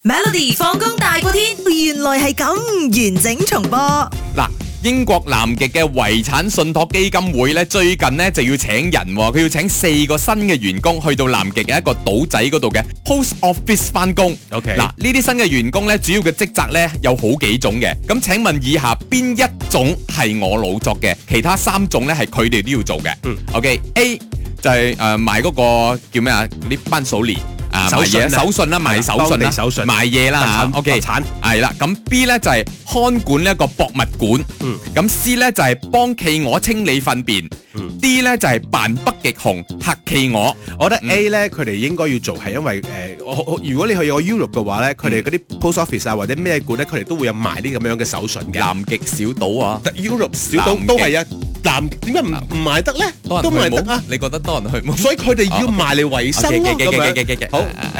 Melody 放工大過天，原來係咁完整重播。 嗱，英國南極嘅遺產信託基金會咧，最近咧就要請人，佢要請4個新嘅員工去到南極嘅一個島仔嗰度嘅 Post Office 翻工。 OK， 嗱，呢啲新嘅員工咧，主要嘅職責咧有好幾種嘅。咁請問以下邊一種係我老作嘅？其他3種咧係佢哋都要做嘅。OK，A 就係賣嗰個叫咩啊？嗰啲班數年。 手信啦，賣手信啦，賣嘢啦嚇。OK， 係啦。咁 B 咧就係看管呢一個博物館。咁 C 咧就係幫企鵝清理糞便。D 咧就係扮北極熊嚇企鵝。 我覺得 A 咧佢哋應該要做係因為如果你去個 Europe 嘅話咧，佢哋嗰啲 post office 啊或者咩館咧，佢哋都會有賣啲咁樣嘅手信嘅。 南極小島啊 ，Europe 小島都係啊。南點解唔賣得咧？都賣得啊！ 你覺得多人去冇？ 所以佢哋要賣嚟維生咯。好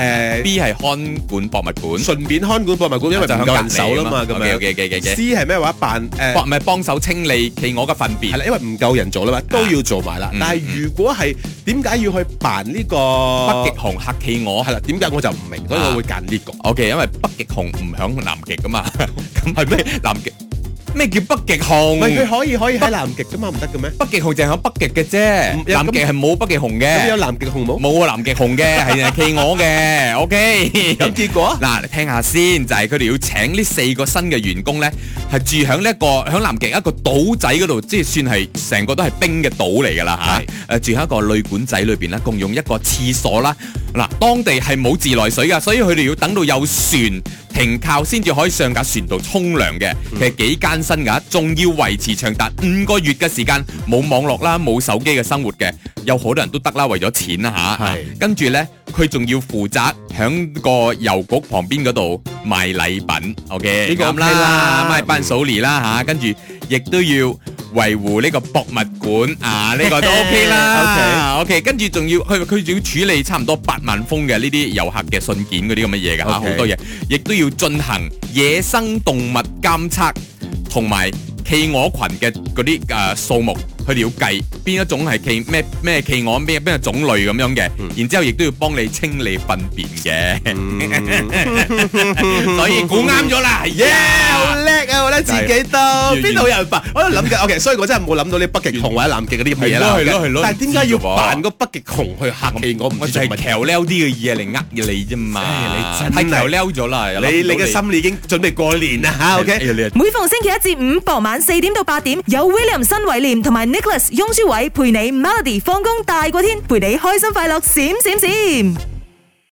，B 係看管博物館， 順便看管博物館，因為唔夠人手啦嘛。咁樣 C 係咩話？ 唔係幫手清理企鵝嘅糞便。 係啦，因為唔夠人做啦嘛，都要做埋啦。但係如果係點解要去扮呢個北極熊嚇企鵝？ 係啦，點解我就唔明，所以我會揀呢個。 OK，因為北極熊唔響南極噶嘛。咁係咩？南極？咩叫北極熊？ 唔係佢可以喺南極噶嘛，唔得嘅咩？ 北極熊淨係響北極嘅啫，南極係冇北極熊嘅。 咁有南極熊冇？ 冇啊，南極熊嘅係企鵝嘅。OK， 咁結果嗱，你聽下先，就係佢哋要請呢4個新嘅員工咧，係住響呢一個響南極一個島仔嗰度，即係算係成個都係冰嘅島嚟㗎啦嚇。住喺一個旅館仔裏邊啦，共用一個廁所啦。嗱，當地係冇自來水㗎，所以佢哋要等到有船停靠先至可以上架船度沖涼嘅。其實幾艱辛㗎，仲要維持長達5個月嘅時間，冇網絡啦，冇手機嘅生活嘅。有好多人都得啦，為咗錢啦嚇。跟住呢，佢仲要負責響個郵局旁邊嗰度賣禮品。OK，咁啦，賣伴手禮啦嚇，跟住亦都要維護呢個博物館啊，呢個都 OK 啦。OK， 跟住仲要佢仲要處理差唔多8萬封嘅呢啲遊客嘅信件嗰啲咁嘅嘢㗎嚇，好多嘢，亦都要進行野生動物監測同埋企鵝群嘅嗰啲數目。佢哋要計邊一種係咩企鵝，邊個種類咁樣嘅，然之後亦都要幫你清理糞便嘅，所以估啱咗啦， 好叻啊！我覺得自己都邊度有人扮，我喺度諗緊。OK， 所以我真係冇諗到啲北極熊或者南極嗰啲咁嘅嘢啦。 係咯。 但係點解要扮個北極熊去嚇企鵝？ 我就係橋撩啲嘅嘢嚟呃你啫嘛，係橋撩咗啦。 你嘅心已經準備過年啦嚇。OK， 每逢星期1至5傍晚4點到8點，有 William 新偉廉同埋Nicholas 雍舒偉陪你 Melody 放工大過天，陪你開心快樂閃閃閃。